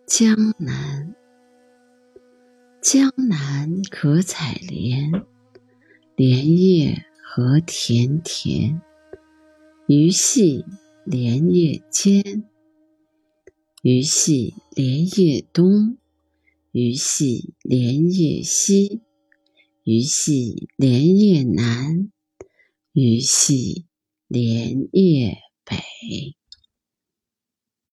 江南，江南可采莲，莲叶何田田。鱼戏莲叶间，鱼戏莲叶东，鱼戏莲叶西，鱼戏莲叶南，鱼戏莲叶北。